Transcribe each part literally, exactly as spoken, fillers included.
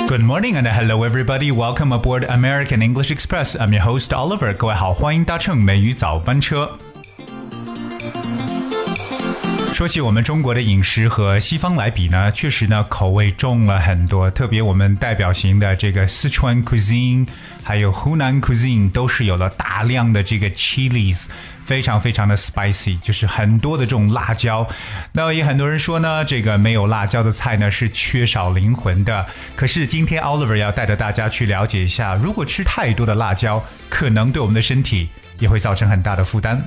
Good morning and hello everybody. Welcome aboard American English Express. I'm your host Oliver. 各位好，欢迎搭乘美语早班车。说起我们中国的饮食和西方来比呢，确实呢口味重了很多，特别我们代表型的这个四川 cuisine 还有湖南 cuisine 都是有了大量的这个 chilies， 非常非常的 spicy， 就是很多的这种辣椒。那也很多人说呢，这个没有辣椒的菜呢是缺少灵魂的。可是今天 Oliver 要带着大家去了解一下，如果吃太多的辣椒，可能对我们的身体也会造成很大的负担。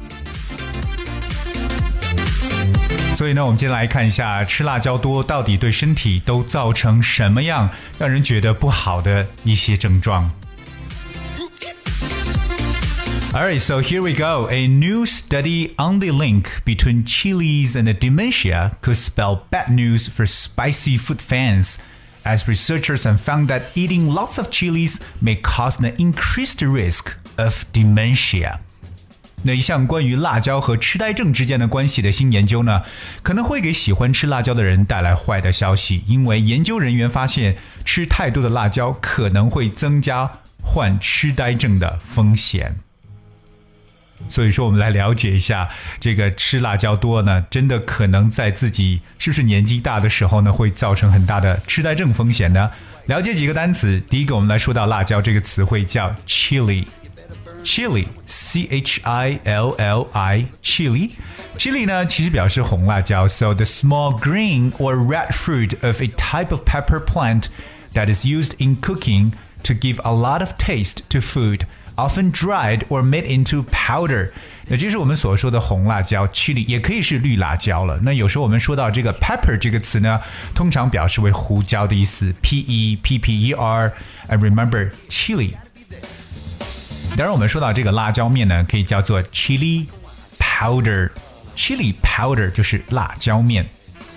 所以呢，我们今天来看一下吃辣椒多到底对身体都造成什么样让人觉得不好的一些症状。Alright, so here we go. A new study on the link between chilies and dementia could spell bad news for spicy food fans, as researchers have found that eating lots of chilies may cause an increased risk of dementia.那一项关于辣椒和痴呆症之间的关系的新研究呢，可能会给喜欢吃辣椒的人带来坏的消息，因为研究人员发现吃太多的辣椒可能会增加患痴呆症的风险。所以说我们来了解一下，这个吃辣椒多呢，真的可能在自己是不是年纪大的时候呢，会造成很大的痴呆症风险呢？了解几个单词，第一个我们来说到辣椒这个词汇叫 chili。Chili, C H I L L I, chili. Chili 呢，其实表示红辣椒 So the small green or red fruit of a type of pepper plant that is used in cooking to give a lot of taste to food, often dried or made into powder. 那这是我们所说的红辣椒 chili 也可以是绿辣椒了。那有时候我们说到这个 pepper 这个词呢，通常表示为胡椒的意思 P E P P E R. And remember, chili.当然我们说到这个辣椒面呢，可以叫做 chili powder. Chili powder 就是辣椒面。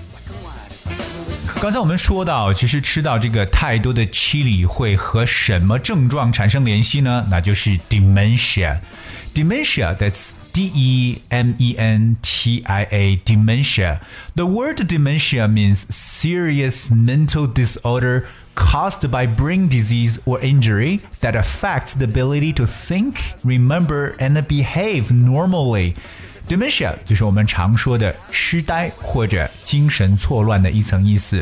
刚才我们说到，其实吃到这个太多的 chili 会和什么症状产生联系呢？那就是 dementia. Dementia, that's D E M E N T I A, dementia. The word dementia means serious mental disorder caused by brain disease or injury that affects the ability to think, remember, and behave normally. Dementia 就是我们常说的痴呆或者精神错乱的一层意思。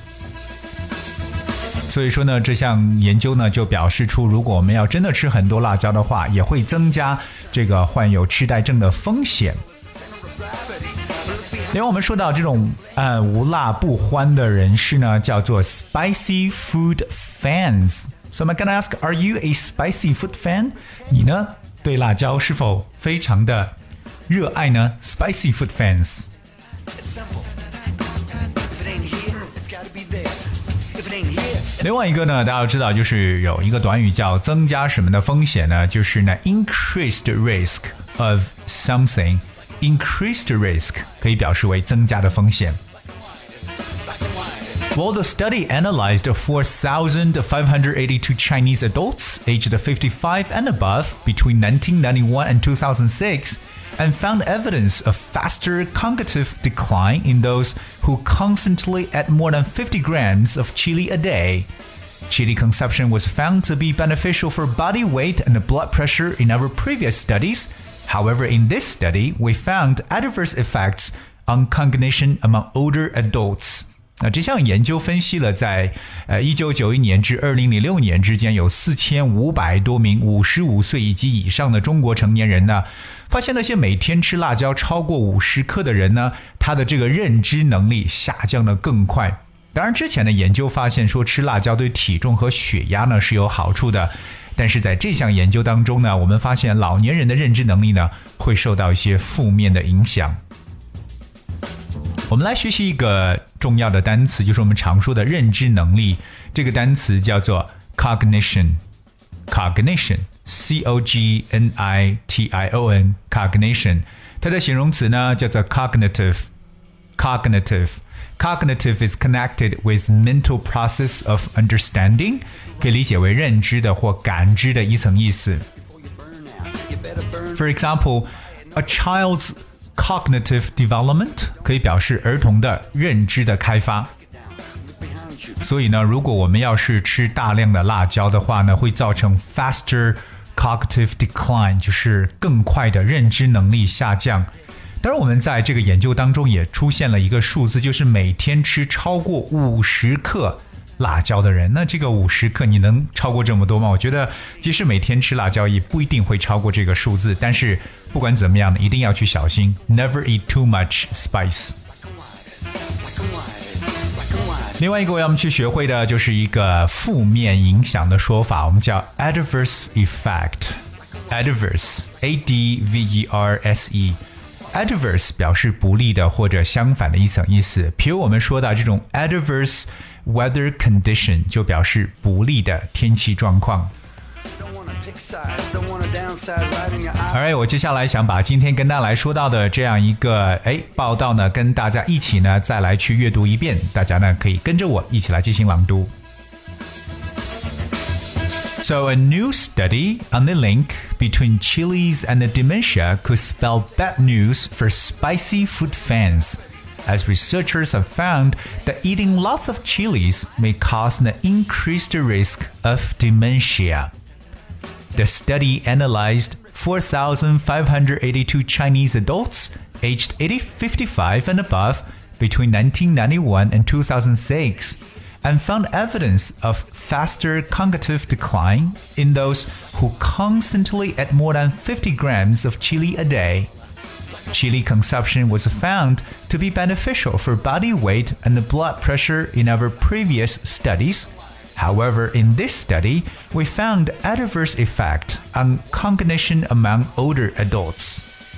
所以说呢，这项研究呢就表示出，如果我们要真的吃很多辣椒的话，也会增加这个患有痴呆症的风险。另外我们说到这种呃无辣不欢的人士呢，叫做 spicy food fans. So I'm gonna ask, are you a spicy food fan? 你呢，对辣椒是否非常的热爱呢 ？Spicy food fans. 另外一个呢，大家要知道，就是有一个短语叫增加什么的风险呢？就是呢 increased risk of something.Increased risk 可以表示为增加的风险。Well, the study analyzed four thousand five hundred eighty-two Chinese adults aged fifty-five and above between nineteen ninety-one and two thousand six and found evidence of faster cognitive decline in those who constantly ate more than fifty grams of chili a day. Chili consumption was found to be beneficial for body weight and blood pressure in our previous studies.However, in this study, we found adverse effects on cognition among older adults. 那这项研究分析了在呃一九九一年至二零零六年之间有四千五百多名五十五岁以及以上的中国成年人呢，发现那些每天吃辣椒超过五十克的人呢，他的这个认知能力下降得更快。当然之前的研究发现说吃辣椒对体重和血压呢是有好处的。但是在这项研究当中呢，我们发现老年人的认知能力呢会受到一些负面的影响。我们来学习一个重要的单词，就是我们常说的认知能力。这个单词叫做 cognition. Cognition, C O G N I T I O N, cognition. 它的形容词呢叫做 cognitive. Cognitive.Cognitive is connected with mental process of understanding, 可以理解为认知的或感知的一层意思。For example, a child's cognitive development 可以表示儿童的认知的开发。 所以呢，如果我们要是吃大量的辣椒的话呢，会造成 faster cognitive decline， 就是更快的认知能力下降。当然我们在这个研究当中也出现了一个数字，就是每天吃超过五十克辣椒的人，那这个五十克你能超过这么多吗？我觉得即使每天吃辣椒也不一定会超过这个数字，但是不管怎么样一定要去小心 Never eat too much spice。 另外一个我们去学会的就是一个负面影响的说法，我们叫 adverse effect。 Adverse A D V E R S E Adverse 表示不利的或者相反的一层意思，比如我们说到这种 adverse weather condition 就表示不利的天气状况。Alright， 我接下来想把今天跟大家来说到的这样一个哎报道呢，跟大家一起呢再来去阅读一遍，大家呢可以跟着我一起来进行朗读。So a new study on the link between chilies and dementia could spell bad news for spicy food fans, as researchers have found that eating lots of chilies may cause an increased risk of dementia. The study analyzed four thousand five hundred eighty-two Chinese adults aged fifty-five and above between nineteen ninety-one and two thousand six.And found evidence of faster cognitive decline in those who constantly ate more than fifty grams of chili a day. Chili consumption was found to be beneficial for body weight and blood pressure in our previous studies. However, in this study, we found adverse effect on cognition among older adults.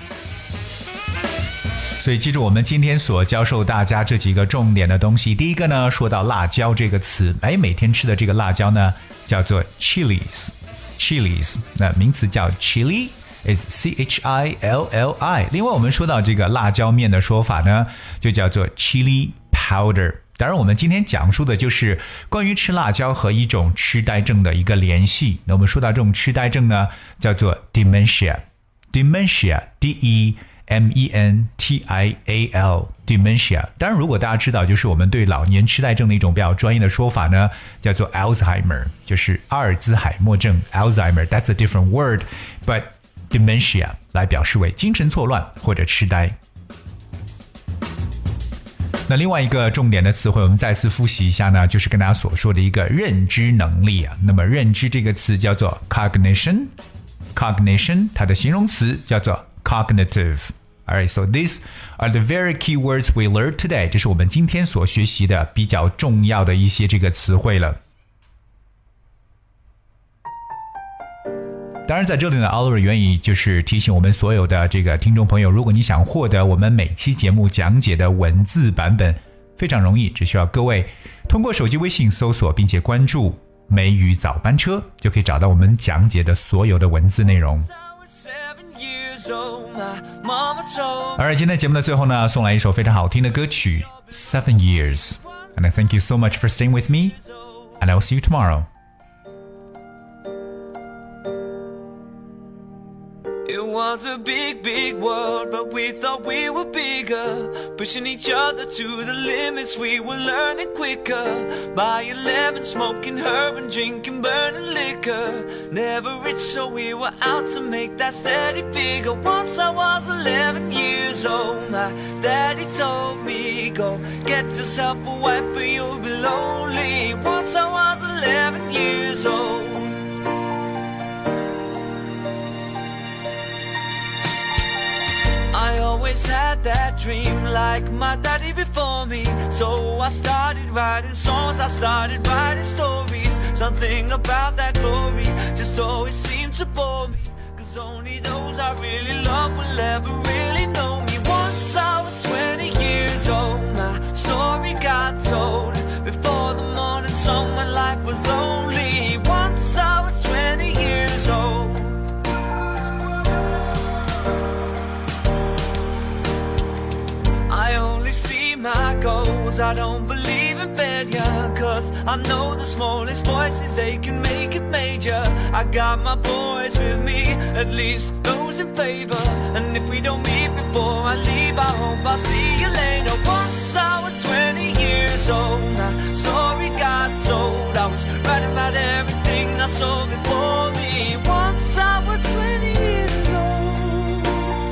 所以记住我们今天所教授大家这几个重点的东西。第一个呢，说到辣椒这个词，哎，每天吃的这个辣椒呢叫做 chilies chilies 那名词叫 chili is C H I L L I。 另外我们说到这个辣椒面的说法呢就叫做 chili powder。 当然我们今天讲述的就是关于吃辣椒和一种痴呆症的一个联系。那我们说到这种痴呆症呢叫做 dementia dementia D E M E N T I A L dementia。 当然如果大家知道就是我们对老年痴呆症的一种比较专业的说法呢叫做 Alzheimer， 就是阿尔兹海默症 Alzheimer that's a different word but dementia 来表示为精神错乱或者痴呆。那另外一个重点的词汇我们再次复习一下呢，就是跟大家所说的一个认知能力啊。那么认知这个词叫做 cognition cognition 它的形容词叫做cognitive. Alright, so these are the very key words we learned today. 这是我们今天所学习的比较重要的一些这个词汇了。当然在这里呢 Oliver 愿意就是提醒我们所有的这个听众朋友，如果你想获得我们每期节目讲解的文字版本，非常容易，只需要各位通过手机微信搜索并且关注梅雨早班车，就可以找到我们讲解的所有的文字内容。而今天节目的最后呢，送来一首非常好听的歌曲 Seven Years. And I thank you so much for staying with me. And I'll see you tomorrow. It was a big, big world, but we thought we were bigger. Pushing each other to the limits, we were learning quicker. By eleven, smoking herb and drinking burning liquor. Never rich, so we were out to make that steady figure. Once I was eleven years old, my daddy told me, go get yourself a wife or you'll be lonely. Once I was eleven years old. I always had that dream like my daddy before me. So I started writing songs, I started writing stories. Something about that glory just always seemed to bore me. Cause only those I really love will ever really know me. Once I was twenty years old, my story got told. Before the morning sun when life was lonely. Once I was twenty years old. I only see my goals, I don't believe in failure. Cause I know the smallest voices, they can make it major. I got my boys with me, at least those in favor. And if we don't meet before I leave, I hope I'll see you later. Once I was twenty years old, my story got I saw before me. Once I was twenty years old.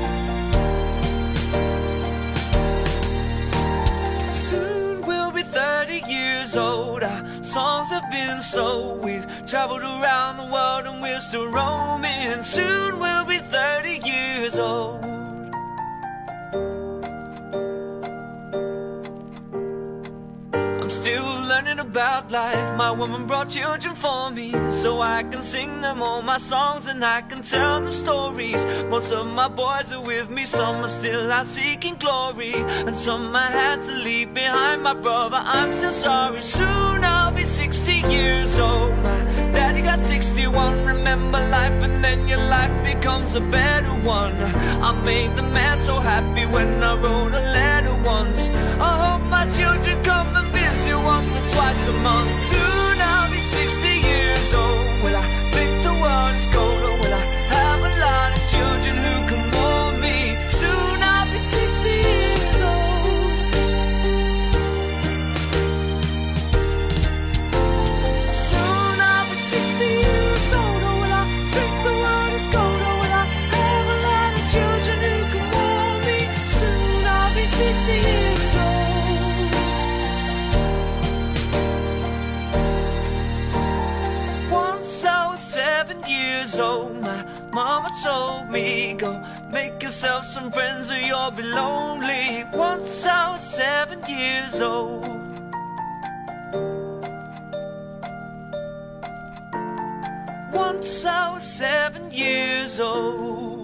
Soon we'll be thirty years old. Our songs have been sold. We've traveled around the world and we're still roaming. Soon we'll be thirty years old. I'm still learning about life. My woman brought children for me, so I can sing them all my songs and I can tell them stories. Most of my boys are with me, some are still out seeking glory, and some I had to leave behind. My brother, I'm still sorry. Soon I'll be sixty years old. My daddy got sixty-one. Remember life and then your life becomes a better one. I made the man so happy when I wrote a letter once. I hope my children come and visit once or twice a month. Soon I'll be sixty years old. Will I think the world is cold, or will I have a lot of children who can warm me? Soon I'll be sixty years old. Soon I'll be sixty years old. Or will I think the world is cold, or will I have a lot of children who can warm me? Soon I'll be sixty years old. Once I was seven years old. My mama told me, go make yourself some friends or you'll be lonely. Once I was seven years old. Once I was seven years old.